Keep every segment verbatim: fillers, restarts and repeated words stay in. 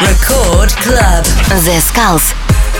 Record Club. The Skulls.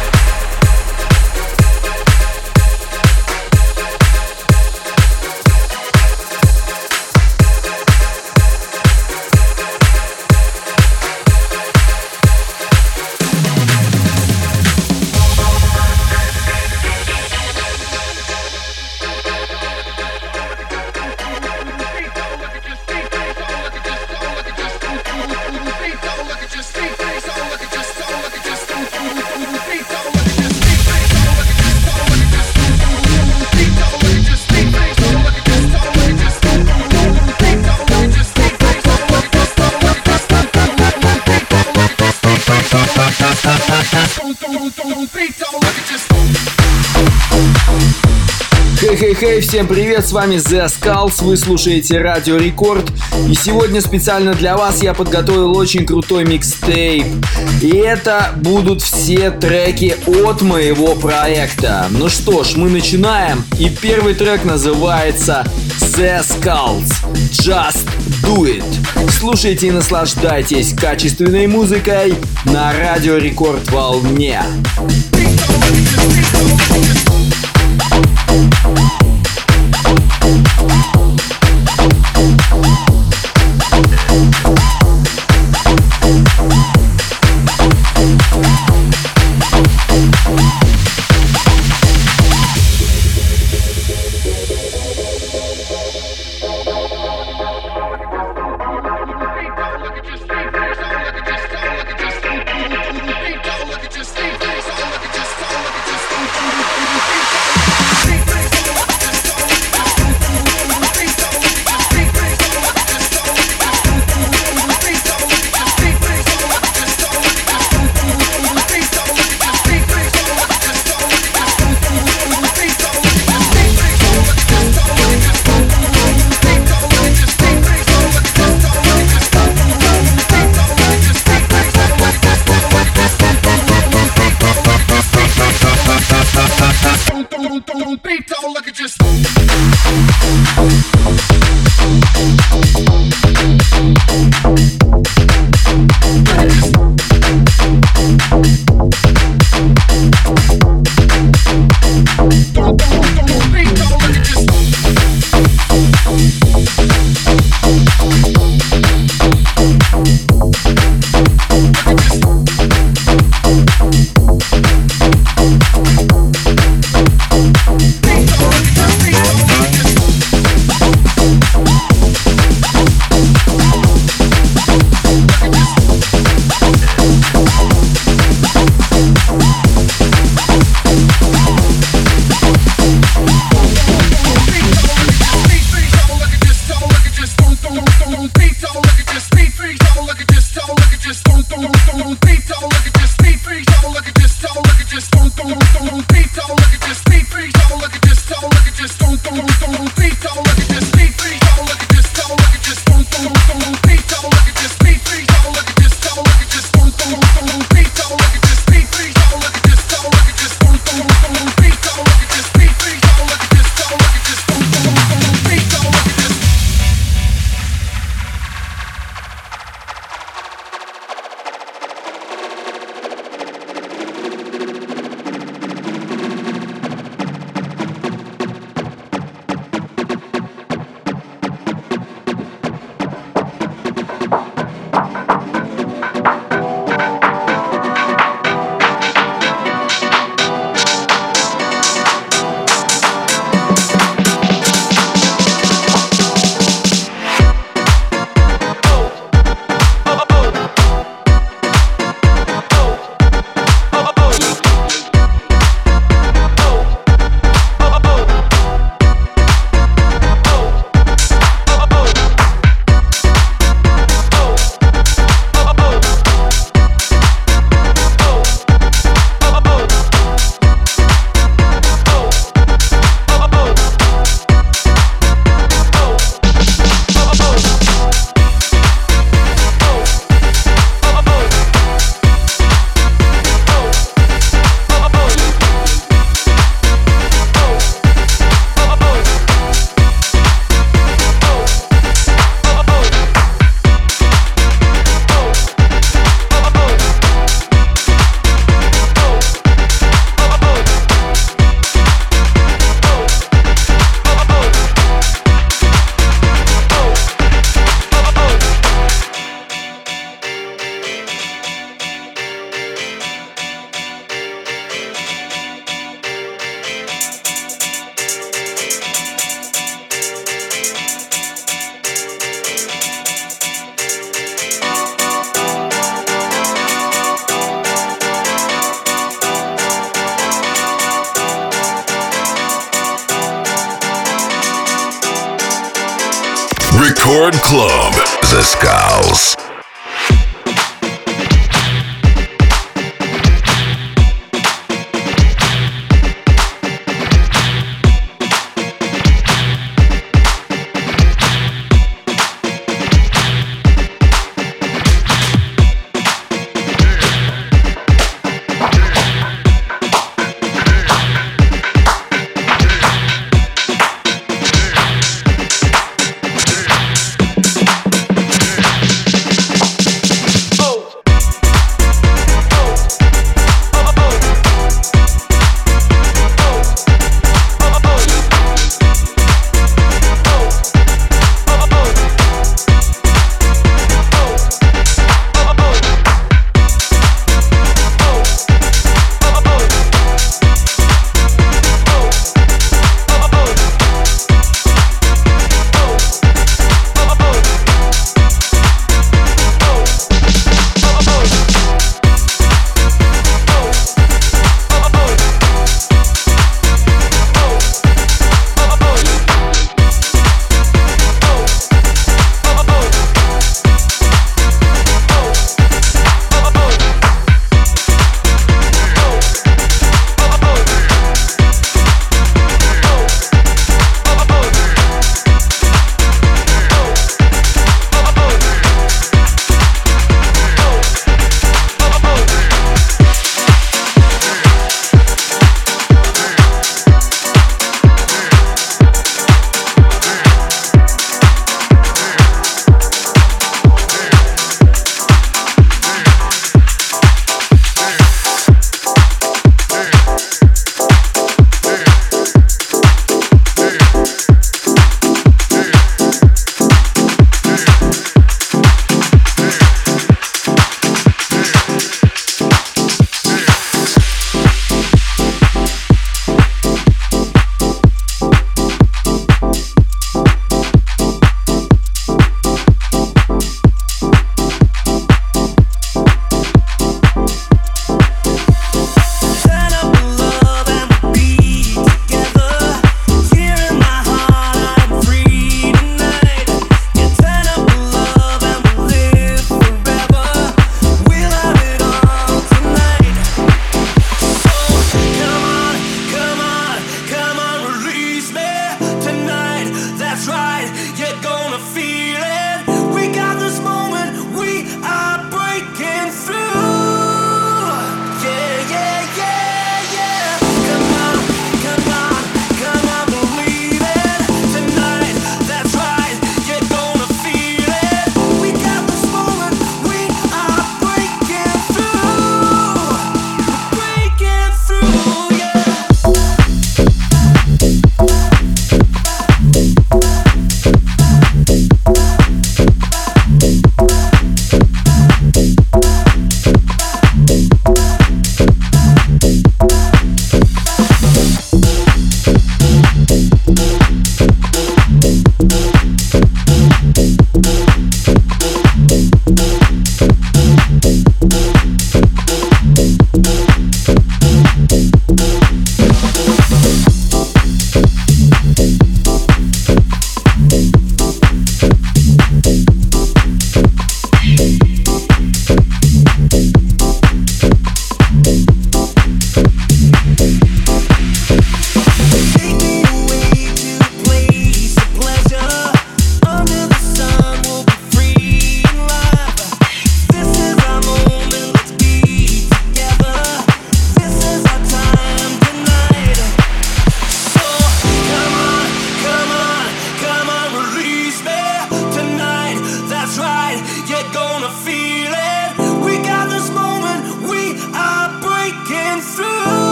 Хей-хей-хей, всем привет, с вами The Skulls, вы слушаете Радио Рекорд. И сегодня специально для вас я подготовил очень крутой микстейп. И это будут все треки от моего проекта. Ну что ж, мы начинаем. И первый трек называется The Skulls Just Do It. Слушайте и наслаждайтесь качественной музыкой на Радио Рекорд волне. Beat Record Club. The Skulls.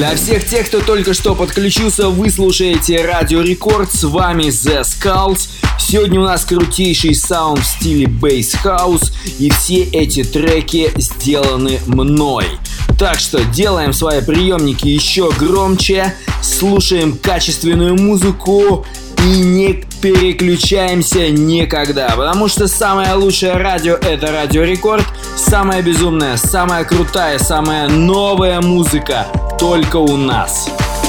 Для всех тех, кто только что подключился, вы слушаете Радио Рекорд, с вами The Skulls. Сегодня у нас крутейший саунд в стиле Bass House, и все эти треки сделаны мной. Так что делаем свои приемники еще громче, слушаем качественную музыку и не переключаемся никогда, потому что самое лучшее радио — это Радио Рекорд, самая безумная, самая крутая, самая новая музыка только у нас.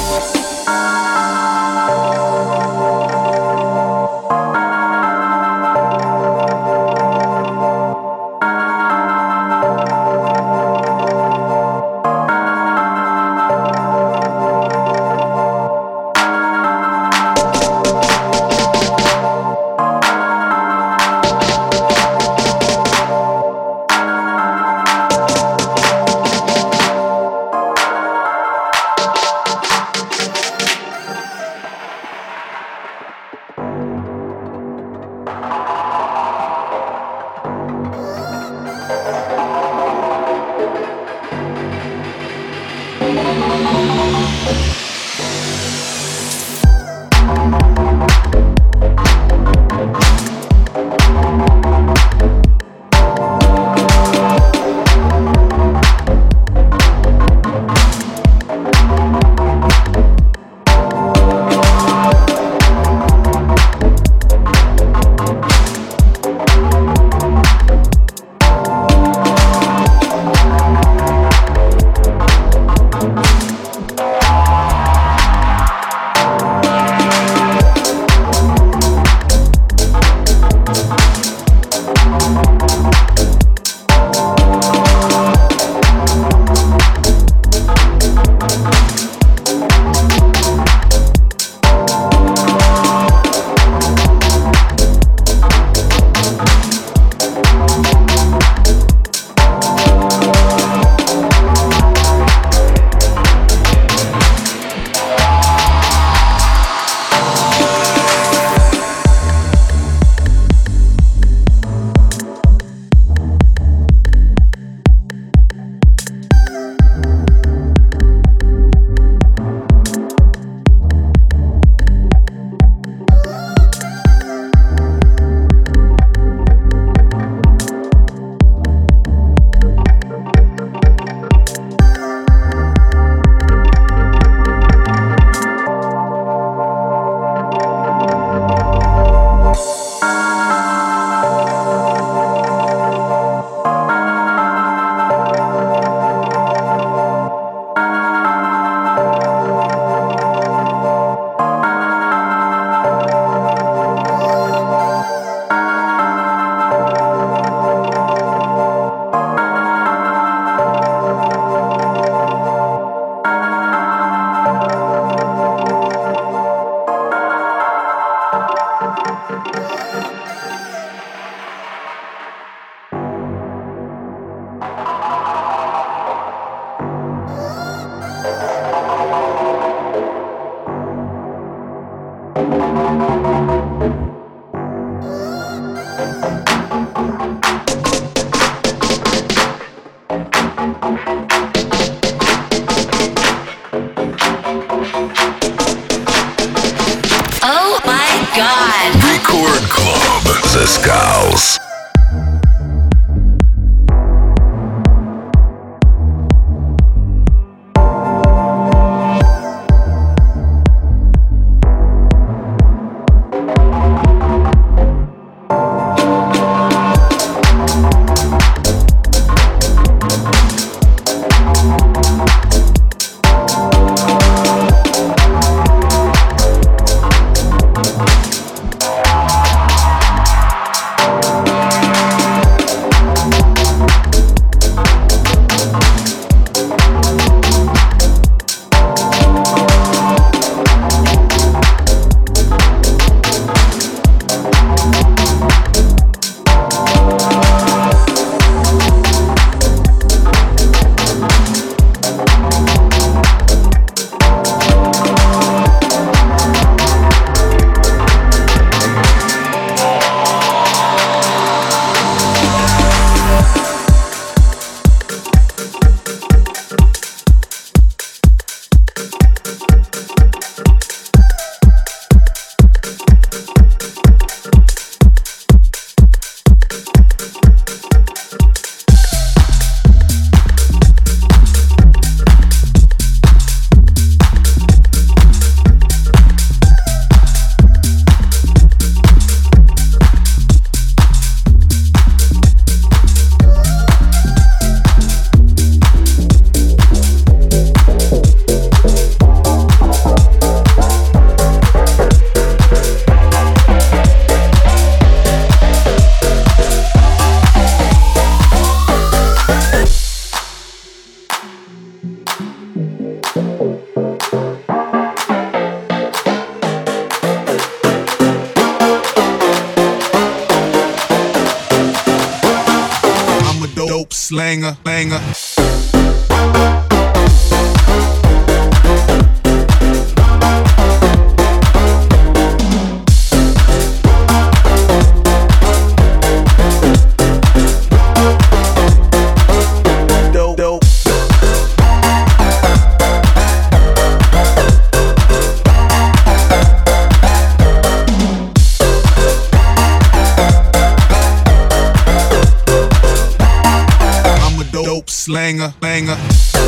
Oh my God! Record Club, The Skulls. Slanger, banger. Slanger, banger.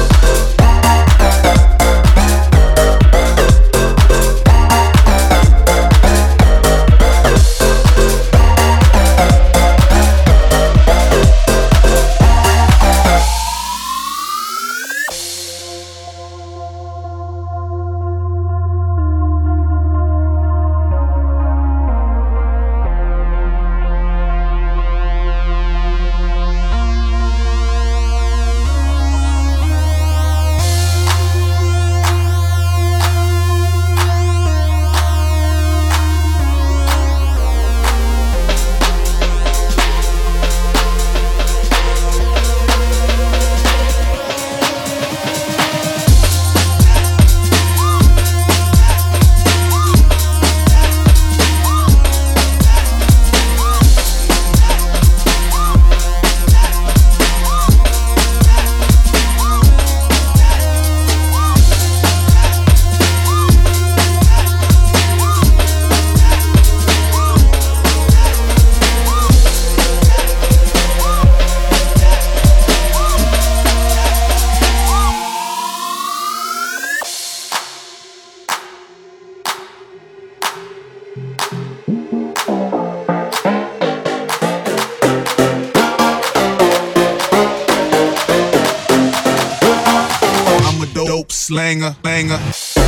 Slanger, banger.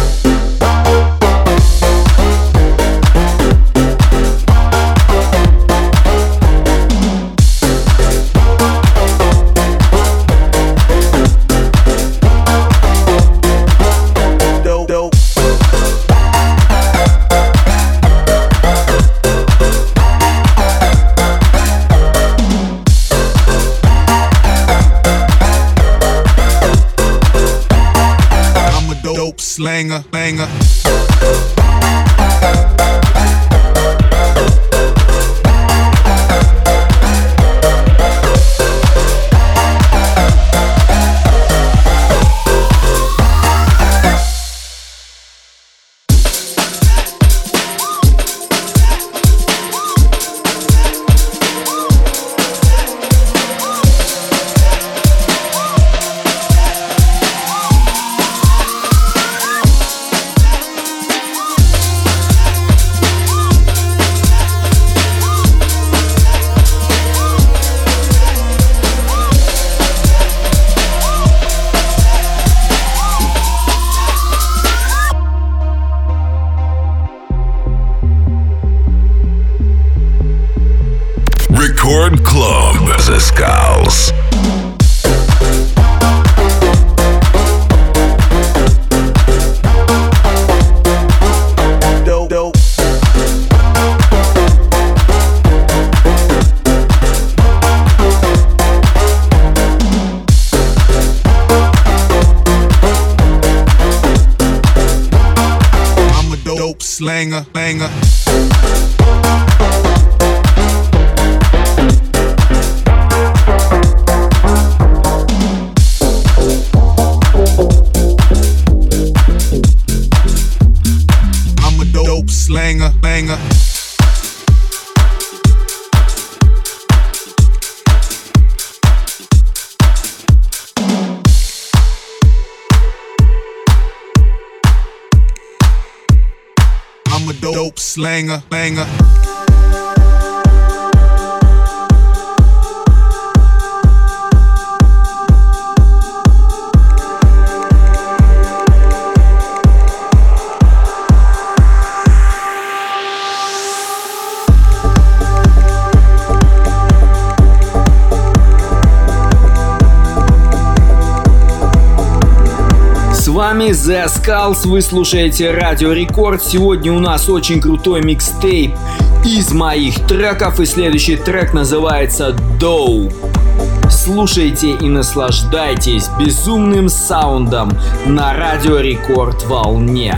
Slanger, banger. Record Club The Skulls. I'm a dope slanger, banger. Slanger, banger. I'm a dope slanger, banger. С вами The Skulls, вы слушаете Радио Рекорд. Сегодня у нас очень крутой микстейп из моих треков, и следующий трек называется Dough. Слушайте и наслаждайтесь безумным саундом на Радио Рекорд волне.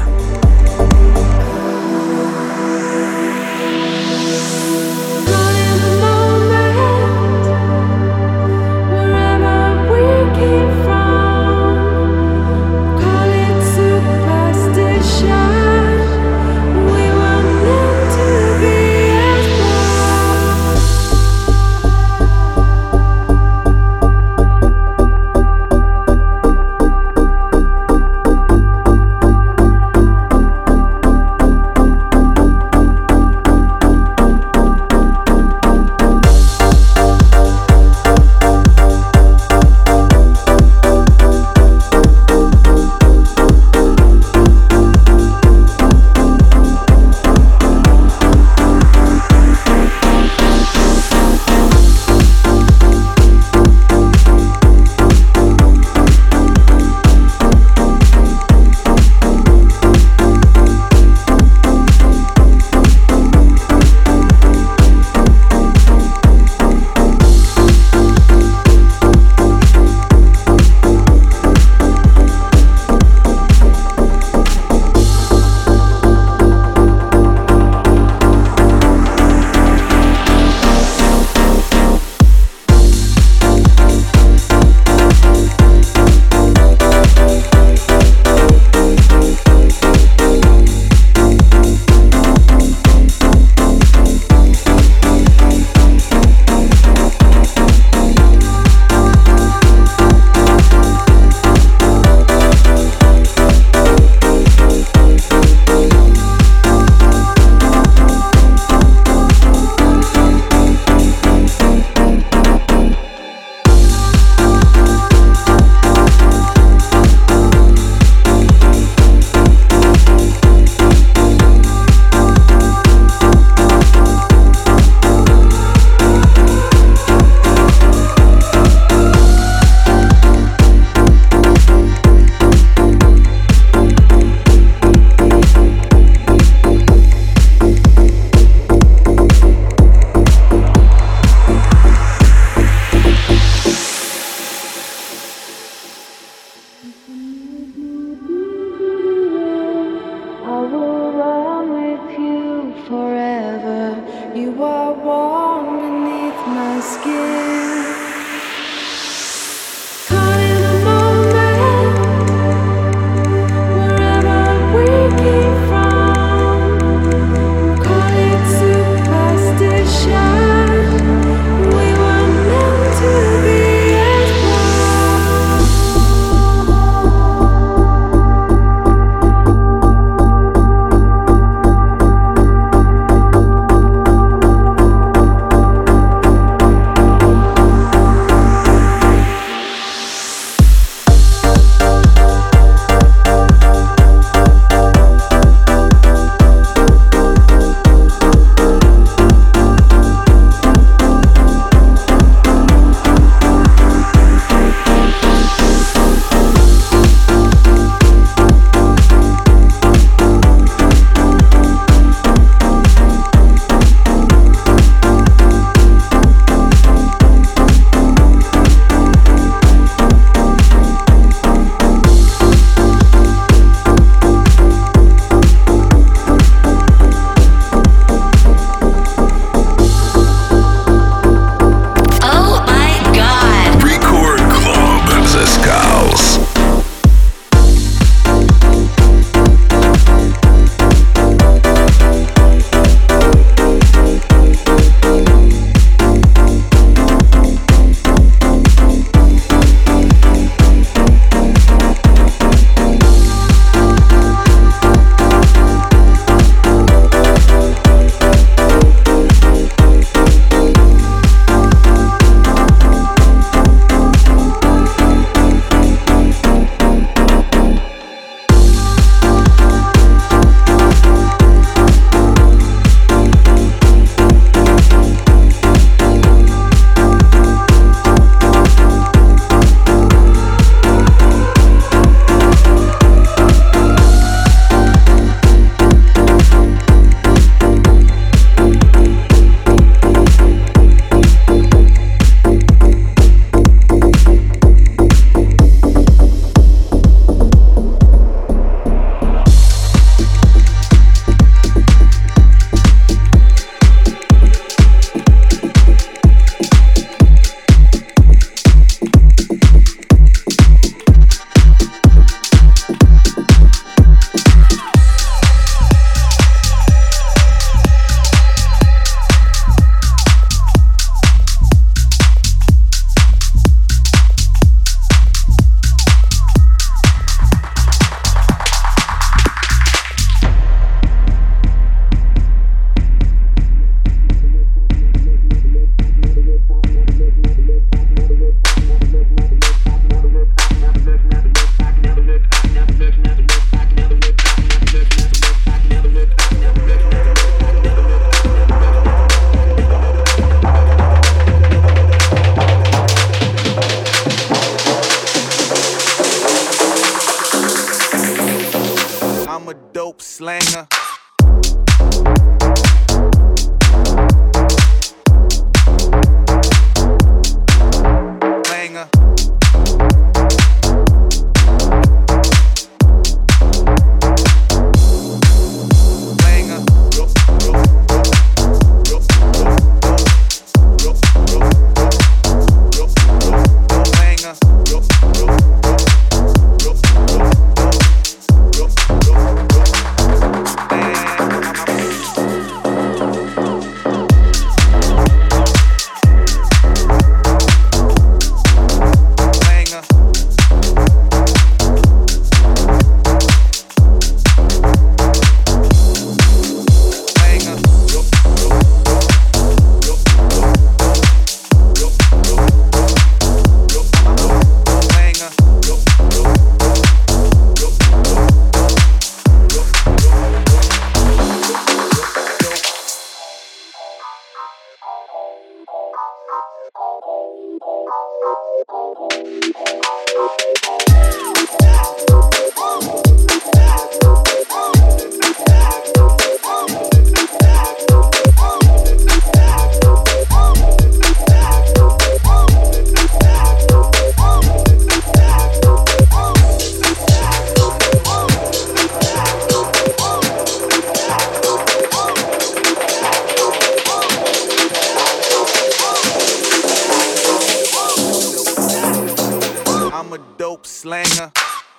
Slanger.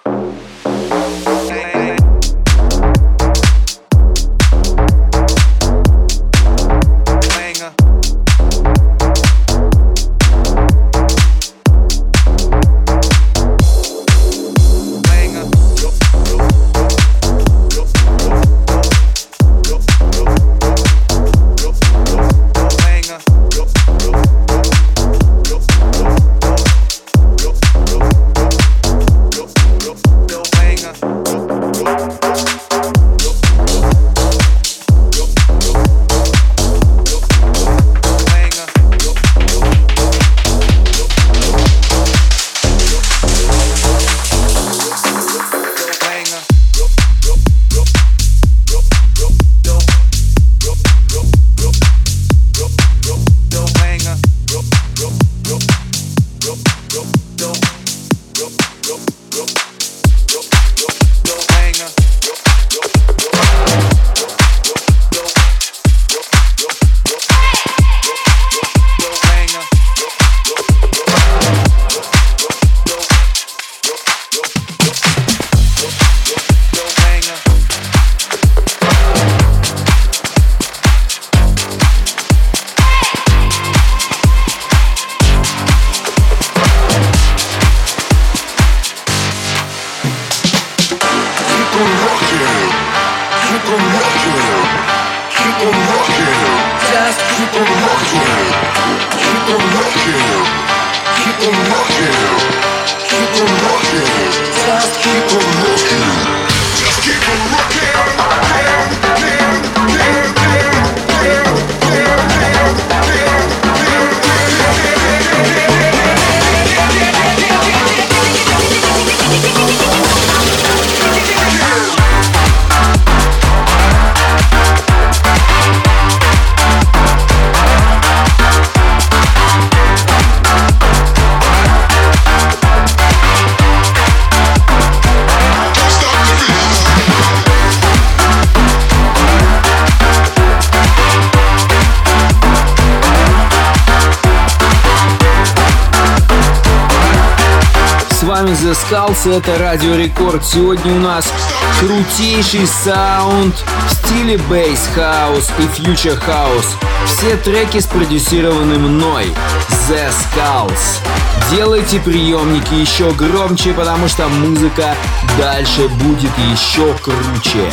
The Skulls, это Радио Рекорд. Сегодня у нас крутейший саунд в стиле бейс хаус и фьючер хаус. Все треки спродюсированы мной, The Skulls. Делайте приемники еще громче, потому что музыка дальше будет еще круче.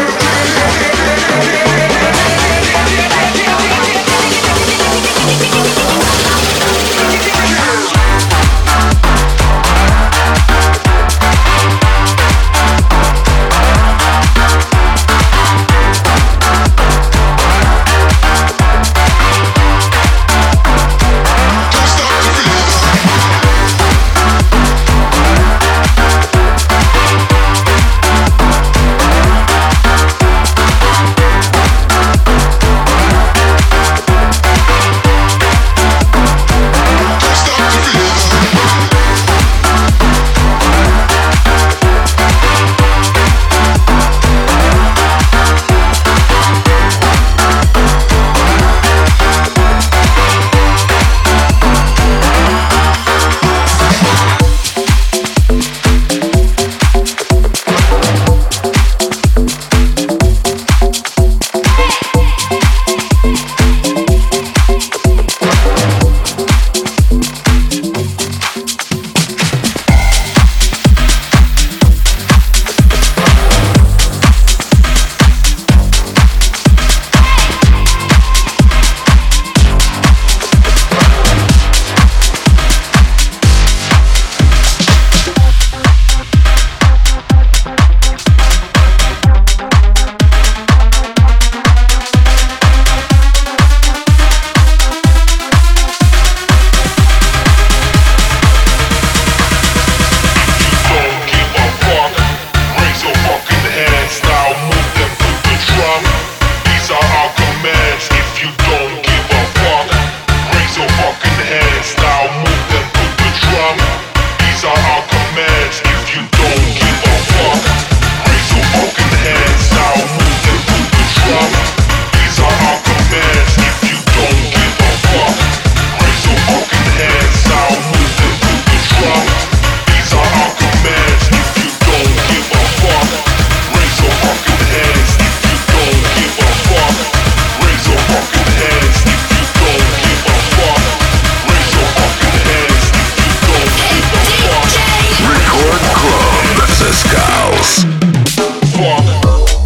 We'll be right back. commands. If you don't give a fuck, raise your fucking hands now, move them to the drum. These are our commands. If you don't give a fuck, raise your fucking hands now, move them to the drum. These are our commands. If you don't give a fuck, raise your fucking hands. If you don't give a fuck, raise your fucking hands. If you don't give a fuck, raise your fucking hands. If you don't give a fuck. Record Club The Skulls. Fuck.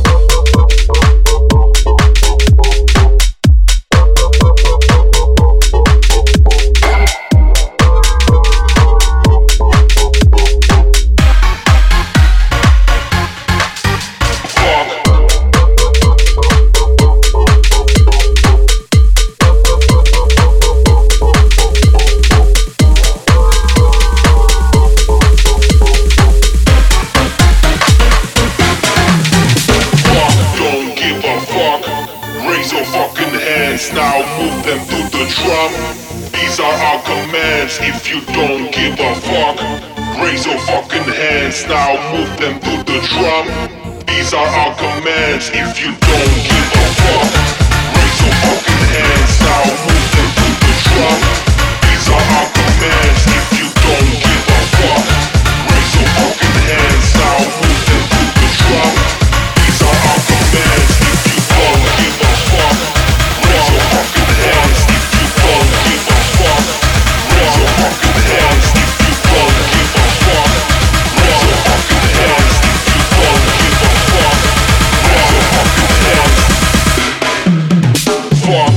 Now move them to the drum. These are our commands. If you don't give a fuck, raise your fucking hands. Now move them to the drum. These are our commands. If you don't give a fuck, raise your fucking hands. Now move them to the drum. These are our commands. If you don't give a fuck, raise your fucking hands. Now move them to the drum. These are our commands. If you don't give a fuck, raise your fucking hands. If you don't give a fuck, raise your fucking hands. If you don't give a fuck, raise your fucking hands. If you don't give a fuck, raise your fucking hands. Fuck.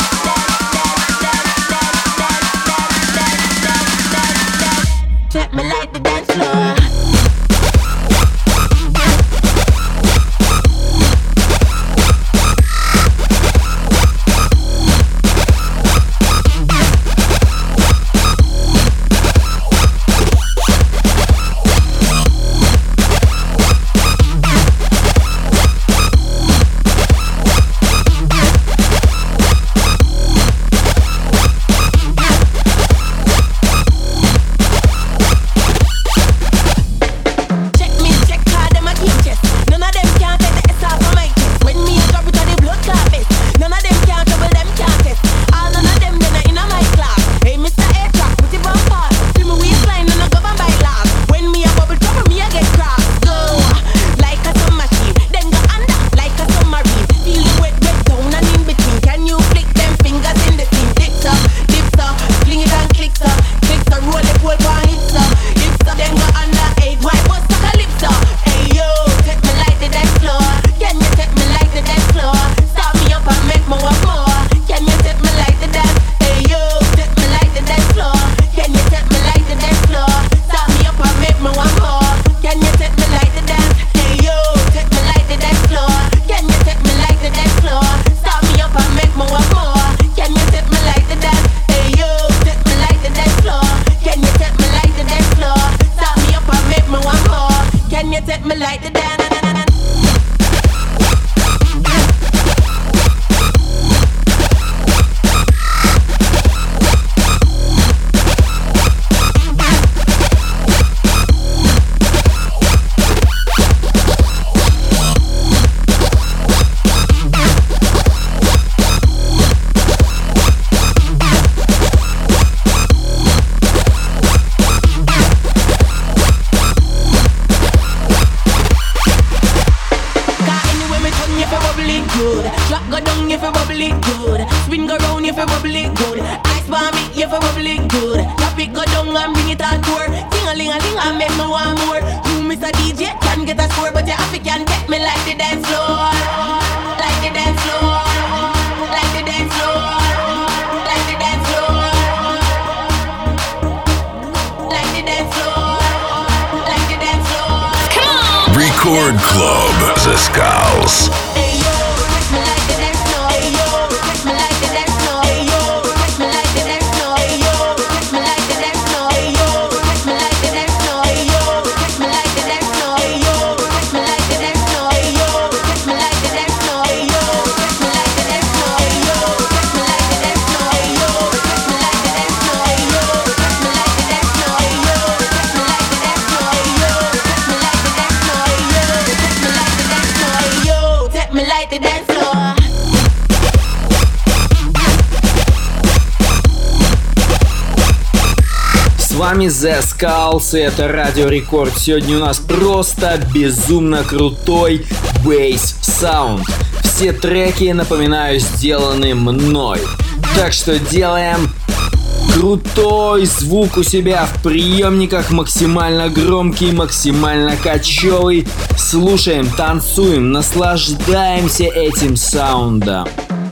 Check me me like the dance. Record Club The Skulls. С вами The Skulls, и это Радио Рекорд. Сегодня у нас просто безумно крутой бейс-саунд. Все треки, напоминаю, сделаны мной. Так что делаем крутой звук у себя в приемниках, максимально громкий, максимально качевый. Слушаем, танцуем, наслаждаемся этим саундом.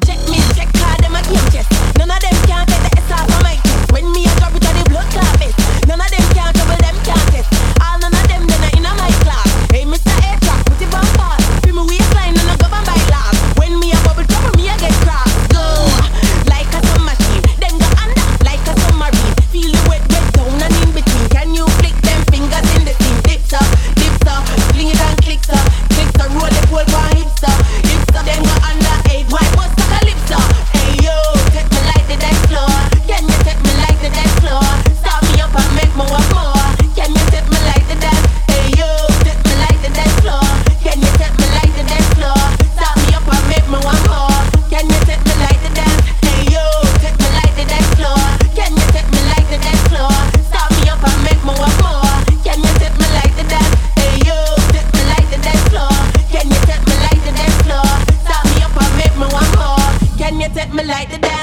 None of them can trouble them, can't test. All none of them, then in my class. Hey, Mister A-Track, put it on fast. Feel me waistline and I go and buy laugh. When me a bubble trouble, me a get cross. Go, like a sun machine. Then go under, like a submarine. Feel the wet, wet down and in between. Can you flick them fingers in the scene? Dips up, dips up, fling it and clicks up. Clicks up, roll the pole for hips up. Hips up, then go under eight. Why bust a calypso? Hey yo, take me like the dance floor. Can you take me like the dance floor? Stop me up and make me want more. Can you take me like the dance? Hey yo, take me like the dance floor. Can you take me like the dance floor? Stop me up and make me want more. Can you take me like the dance? Hey yo, take me like the dance floor. Can you take me like the dance floor? Stop me up and make me want more. Can you take me like the dance? Hey yo, take me like the dance floor. Can you take me like the dance floor? Stop me up and make me want more. Can you take me like the dance?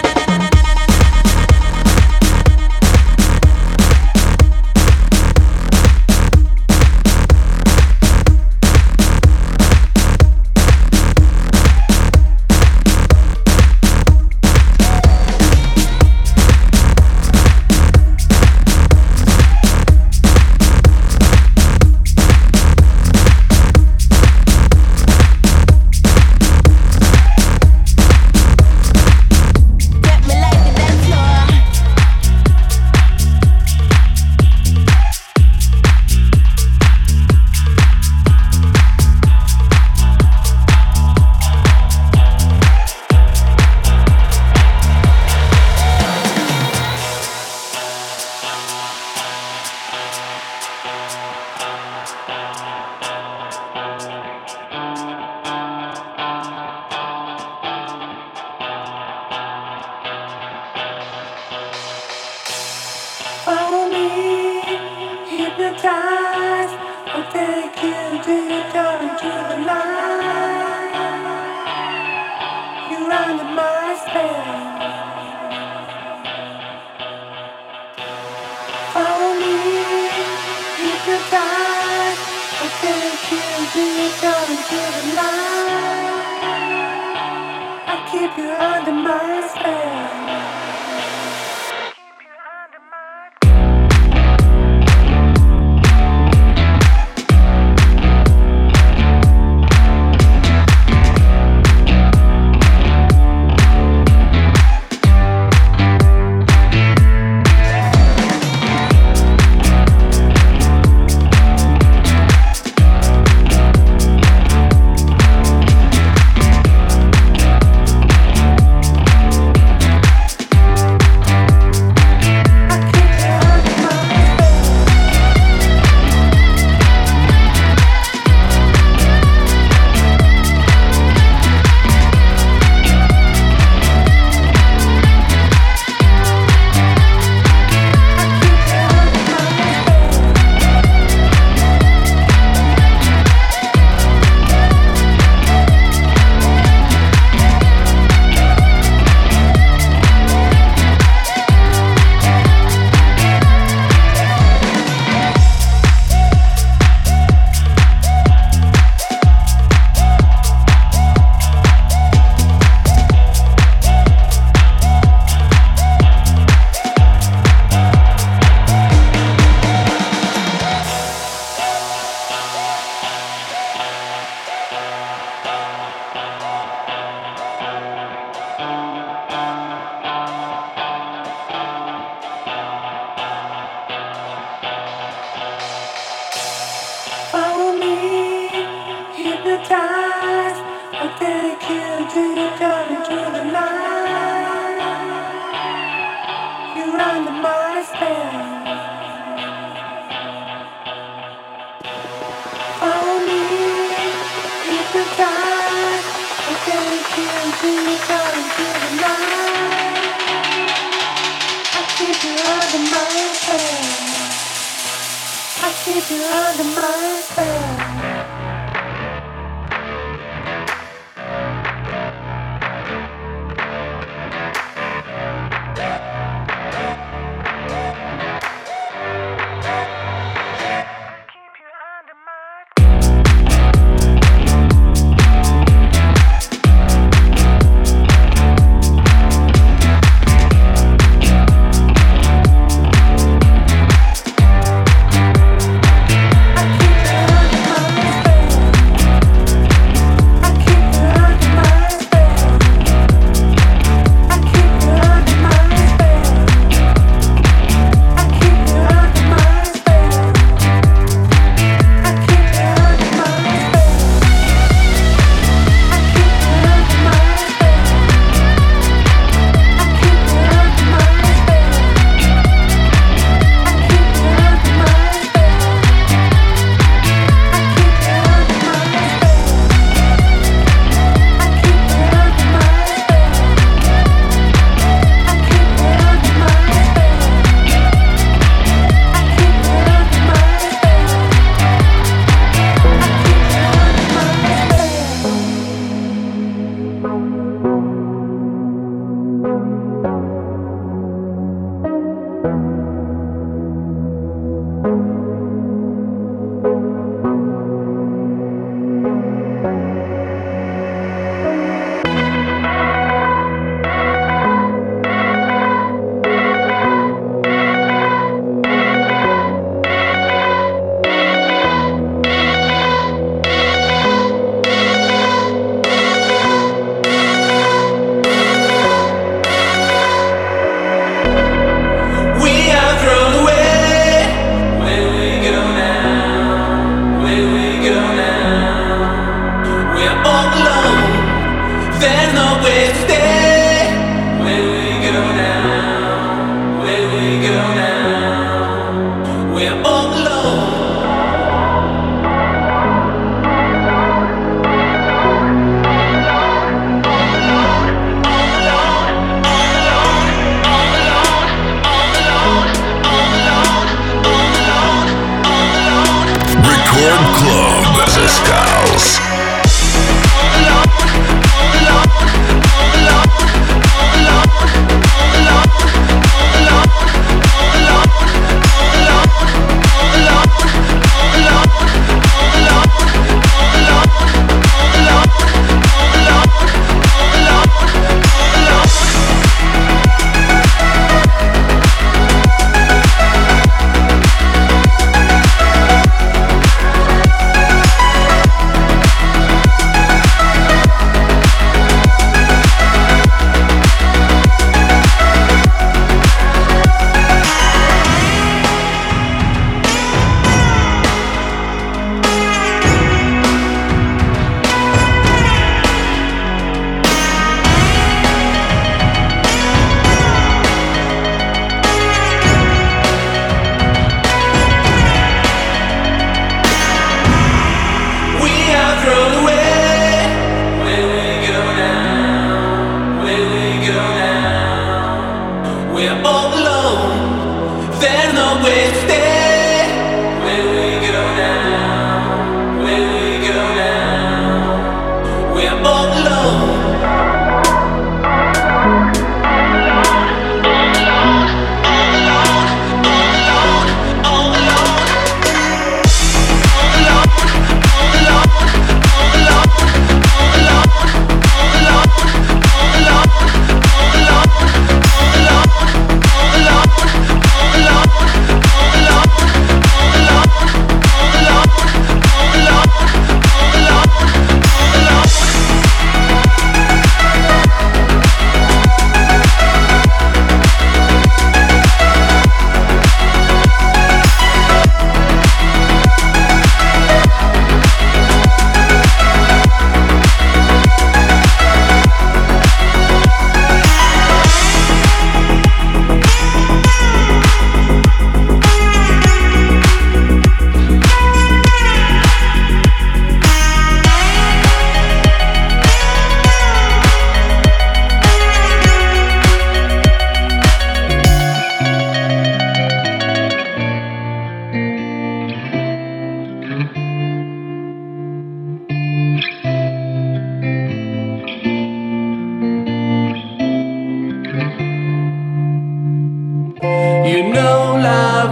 Club The Skulls.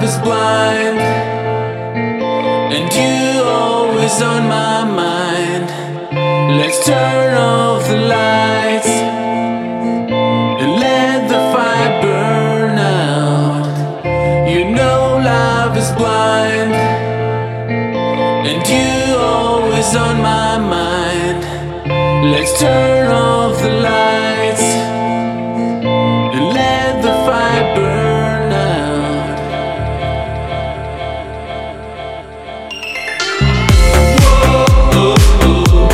is blind, and you always on my mind. Let's turn off the lights and let the fire burn out. You know love is blind, and you always on my mind. Let's turn off the lights and let the fire burn out. Whoa, oh, oh.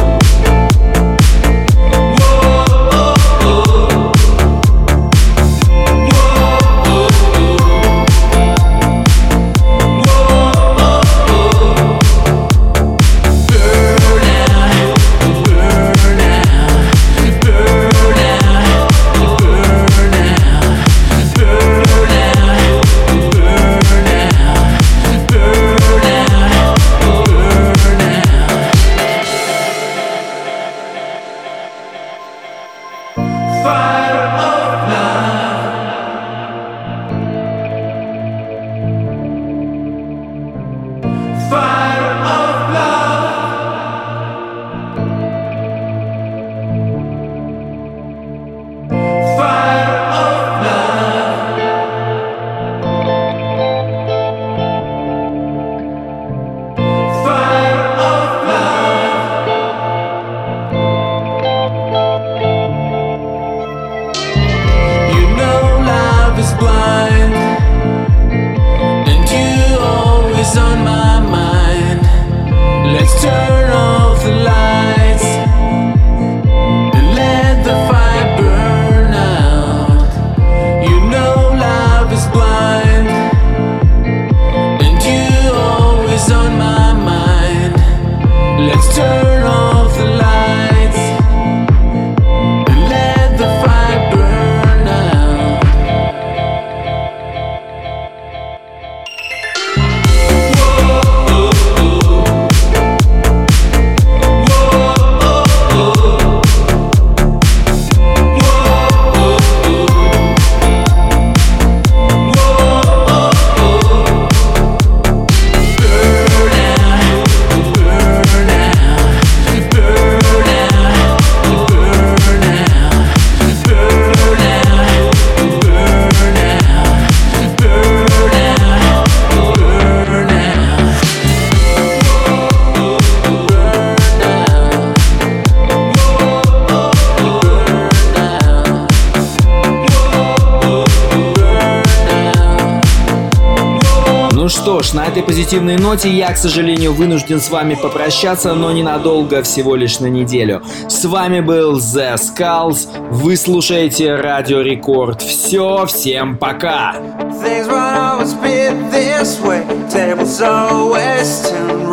Что ж, на этой позитивной ноте я, к сожалению, вынужден с вами попрощаться, но ненадолго, всего лишь на неделю. С вами был The Skulls, вы слушаете Радио Рекорд. Все, всем пока! Things won't always be this way. Tables always turn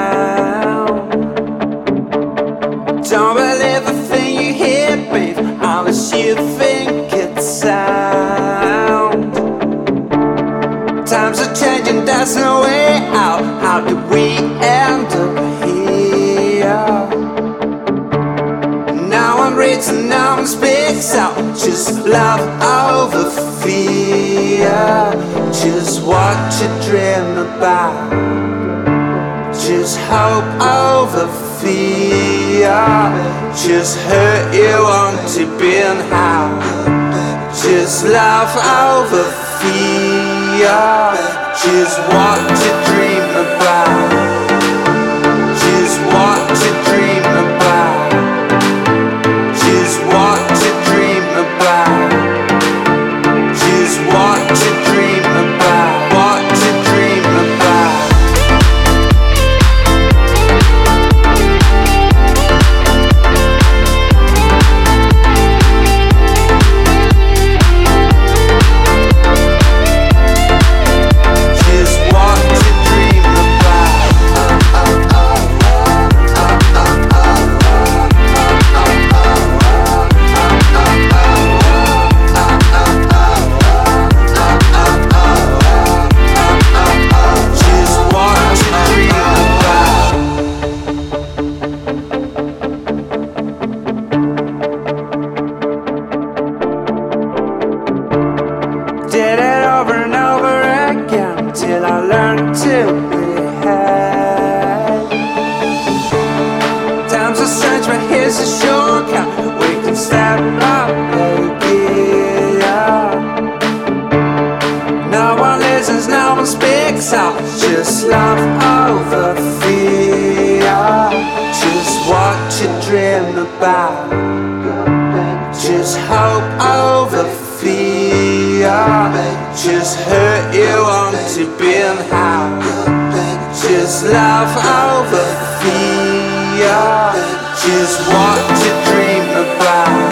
round. Don't believe the thing you hear, babe, unless you think it's sound. Times are changing, there's no way out. How did we end up here? No one reads and no one speaks out. Just love over fear. Just what you dream about. Just hope over fear. Just hurt you want to be and how. Just love over fear. Just what you dream about. Just what you dream about. Just what you dream about. Just what you dream about. What you dream about. Just what you dream about. Uh, uh, uh, uh, uh, uh. church, but here's a shortcut. We can step up again. No one listens, no one speaks out. Just love over fear. Just what you dream about. Just hope over fear. Just hurt you want to be unhappy. Just love over fear. Just what you dream about.